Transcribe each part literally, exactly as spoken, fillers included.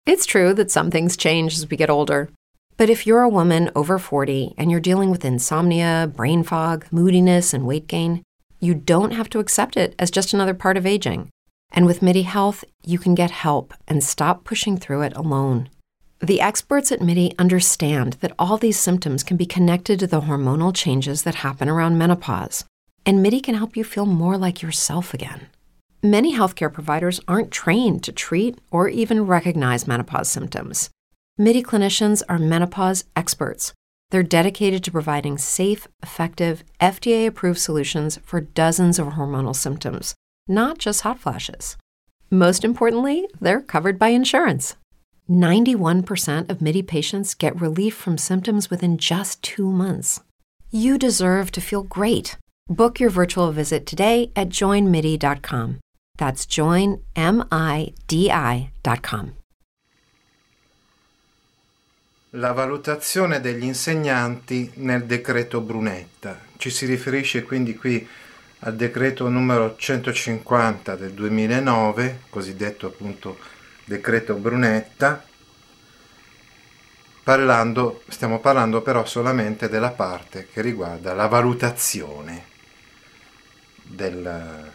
It's true that some things change as we get older. But if you're a woman over forty and you're dealing with insomnia, brain fog, moodiness, and weight gain, you don't have to accept it as just another part of aging. And with MIDI Health, you can get help and stop pushing through it alone. The experts at MIDI understand that all these symptoms can be connected to the hormonal changes that happen around menopause, and MIDI can help you feel more like yourself again. Many healthcare providers aren't trained to treat or even recognize menopause symptoms. MIDI clinicians are menopause experts. They're dedicated to providing safe, effective, F D A-approved solutions for dozens of hormonal symptoms, not just hot flashes. Most importantly, they're covered by insurance. ninety-one percent of MIDI patients get relief from symptoms within just two months. You deserve to feel great. Book your virtual visit today at join midi dot com. That's join midi dot com. La valutazione degli insegnanti nel decreto Brunetta. Ci si riferisce quindi qui al decreto numero centocinquanta del duemilanove, cosiddetto appunto decreto Brunetta, parlando, stiamo parlando però solamente della parte che riguarda la valutazione del,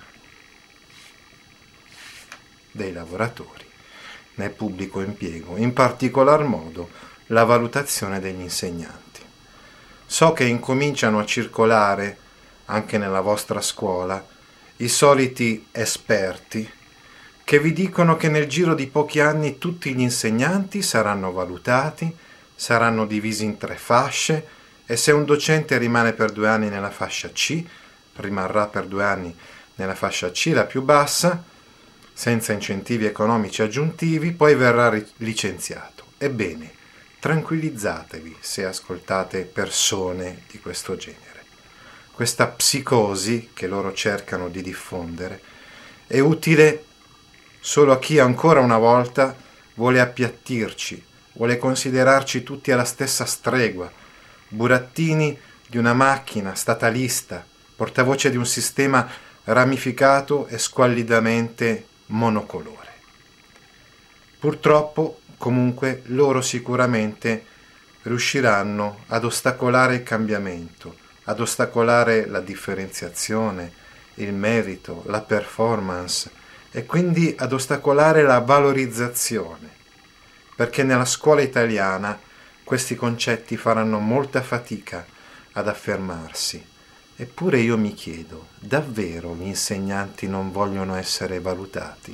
dei lavoratori nel pubblico impiego, in particolar modo la valutazione degli insegnanti. So che incominciano a circolare anche nella vostra scuola i soliti esperti che vi dicono che nel giro di pochi anni tutti gli insegnanti saranno valutati, saranno divisi in tre fasce e se un docente rimane per due anni nella fascia C, rimarrà per due anni nella fascia C, la più bassa, senza incentivi economici aggiuntivi, poi verrà licenziato. Ebbene, tranquillizzatevi se ascoltate persone di questo genere. Questa psicosi che loro cercano di diffondere è utile solo a chi ancora una volta vuole appiattirci, vuole considerarci tutti alla stessa stregua, burattini di una macchina statalista, portavoce di un sistema ramificato e squallidamente monocolore. Purtroppo, comunque, loro sicuramente riusciranno ad ostacolare il cambiamento, ad ostacolare la differenziazione, il merito, la performance e quindi ad ostacolare la valorizzazione, perché nella scuola italiana questi concetti faranno molta fatica ad affermarsi. Eppure io mi chiedo, davvero gli insegnanti non vogliono essere valutati?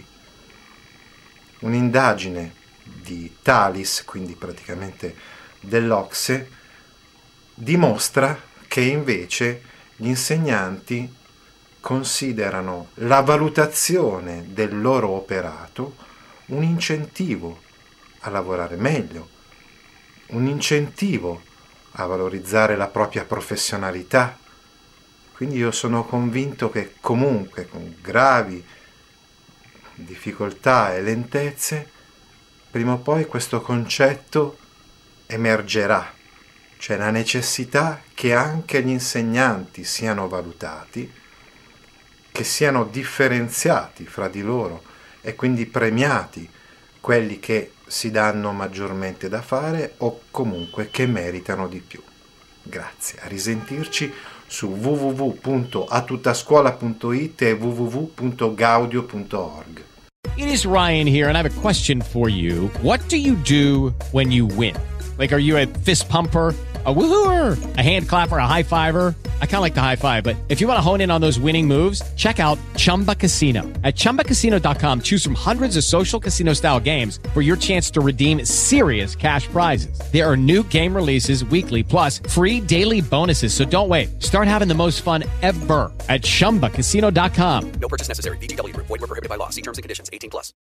Un'indagine di Thalis, quindi praticamente dell'Ocse, dimostra che invece gli insegnanti considerano la valutazione del loro operato un incentivo a lavorare meglio, un incentivo a valorizzare la propria professionalità. Quindi io sono convinto che comunque con gravi difficoltà e lentezze, prima o poi questo concetto emergerà, cioè la necessità che anche gli insegnanti siano valutati, che siano differenziati fra di loro e quindi premiati quelli che si danno maggiormente da fare o comunque che meritano di più. Grazie, a risentirci su w w w punto a tutta scuola punto i t e w w w punto gaudio punto org. It is Ryan here, and I have a question for you. What do you do when you win? Like, are you a fist pumper, a woohooer, a hand clapper, a high fiver? I kind of like the high five, but if you want to hone in on those winning moves, check out Chumba Casino. At chumba casino dot com, choose from hundreds of social casino style games for your chance to redeem serious cash prizes. There are new game releases weekly, plus free daily bonuses. So don't wait. Start having the most fun ever at chumba casino dot com. No purchase necessary. V G W. Void where prohibited by law. See terms and conditions. eighteen plus.